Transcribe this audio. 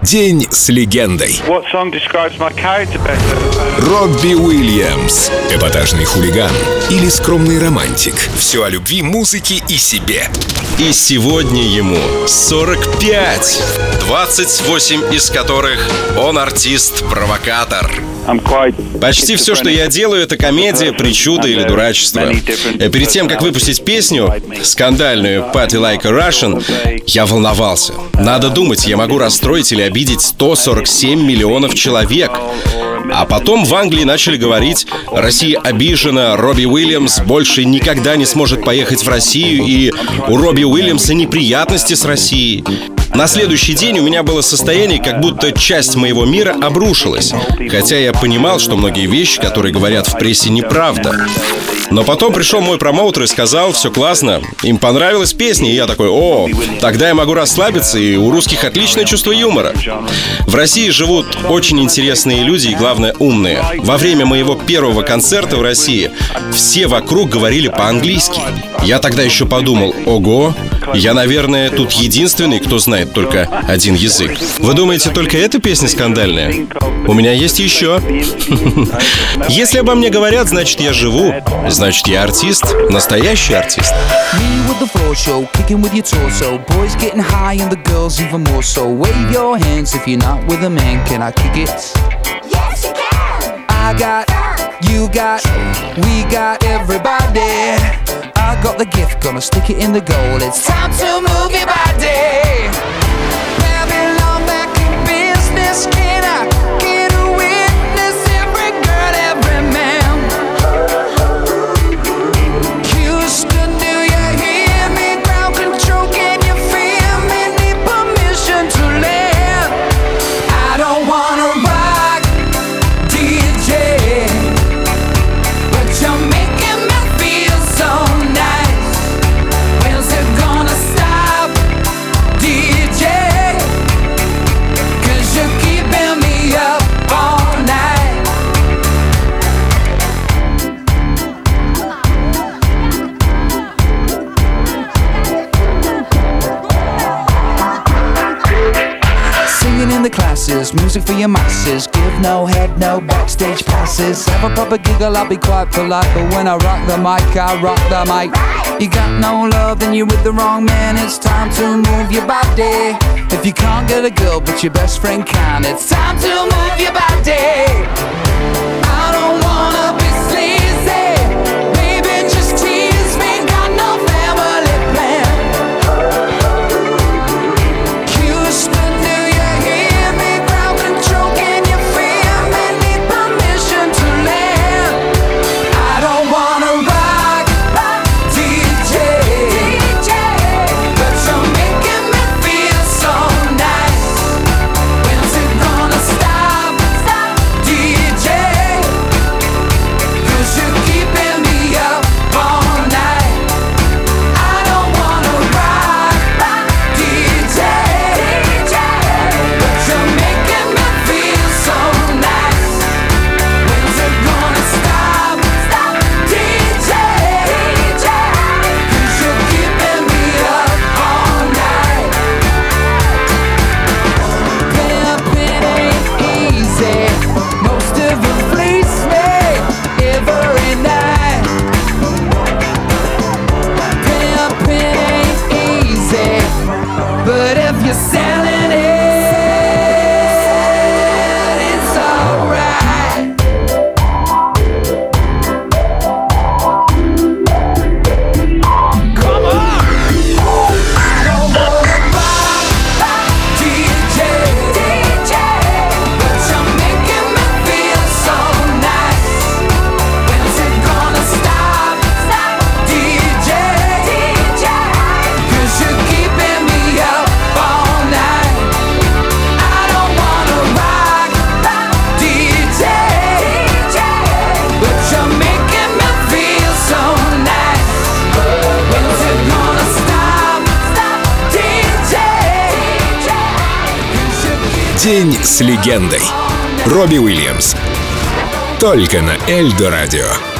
День с легендой. Робби Уильямс. Эпатажный хулиган или скромный романтик. Все о любви, музыке и себе. И сегодня ему 45, 28 из которых он артист-провокатор. Почти все, что я делаю, это комедия, причуда или дурачество. Перед тем, как выпустить песню, скандальную «Party Like a Russian», я волновался. Надо думать, я могу расстроить или обидеть 147 миллионов человек. А потом в Англии начали говорить: Россия обижена, Робби Уильямс больше никогда не сможет поехать в Россию, и у Робби Уильямса неприятности с Россией. На следующий день у меня было состояние, как будто часть моего мира обрушилась. Хотя я понимал, что многие вещи, которые говорят в прессе, неправда. Но потом пришел мой промоутер и сказал: все классно, им понравилась песня. И я такой: о, тогда я могу расслабиться, и у русских отличное чувство юмора. В России живут очень интересные люди и, главное, умные. Во время моего первого концерта в России все вокруг говорили по-английски. Я тогда еще подумал: ого, я, наверное, тут единственный, кто знает только один язык. Вы думаете, только эта песня скандальная? У меня есть еще. Если обо мне говорят, значит, я живу. Значит, я артист, настоящий артист. I got the gift, gonna stick it in the goal. It's time to move your body. Babylon back in business. Can I get a witness? Every girl, every man. Houston, do you hear me? Ground control, can you feel me? Need permission to land. I don't wanna rock, DJ, but you're making me feel so nice. When's it gonna stop, DJ? 'Cause you're keeping me up all night. Singing in the classes, music for your masses. Give no head, no backstage passes. Have a proper giggle, I'll be quite polite, but when I rock the mic, I rock the mic. You got no love, then you're with the wrong man. It's time to move your body. If you can't get a girl, but your best friend can, it's time to move your body. I don't wanna be sleazy, baby, just tease me. Got no family plan. Houston, do you hear me? Ground control, can you feel me? Need permission to land. I don't wanna rock, DJ, but you're making me feel so nice. When's it gonna stop, DJ? 'Cause you're keeping me up all night. I don't wanna rock, DJ, but you're making me feel so nice. When's it gonna stop, DJ? 'Cause you're keeping me up all night. Pimping ain't easy. Most of them fleece me every night. Pimping ain't easy, but if you're selling it, it's alright. Come on! I don't wanna rock, DJ, but you're making me feel so nice. When's it gonna stop, DJ? 'Cause you're keeping me up all night. I don't wanna rock, DJ, but you're making me feel so nice. When's it gonna stop, DJ? 'Cause you're keeping День с легендой. Робби Уильямс. Только на Эльдо Радио.